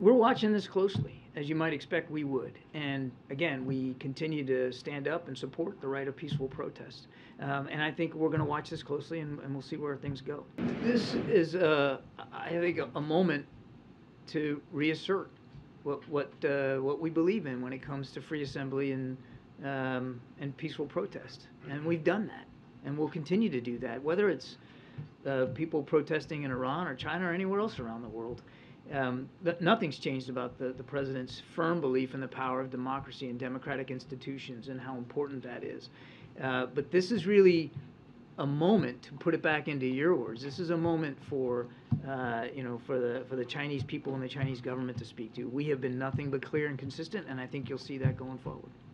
We're watching this closely, as you might expect we would. And again, we continue to stand up and support the right of peaceful protest. And I think we're going to watch this closely, and we'll see where things go. This is, I think, a moment to reassert what we believe in when it comes to free assembly and peaceful protest. And we've done that, and we'll continue to do that, whether it's people protesting in Iran or China or anywhere else around the world. Nothing's changed about the president's firm belief in the power of democracy and democratic institutions and how important that is. But this is really a moment, to put it back into your words, this is a moment for for the Chinese people and the Chinese government to speak to. We have been nothing but clear and consistent, and I think you'll see that going forward.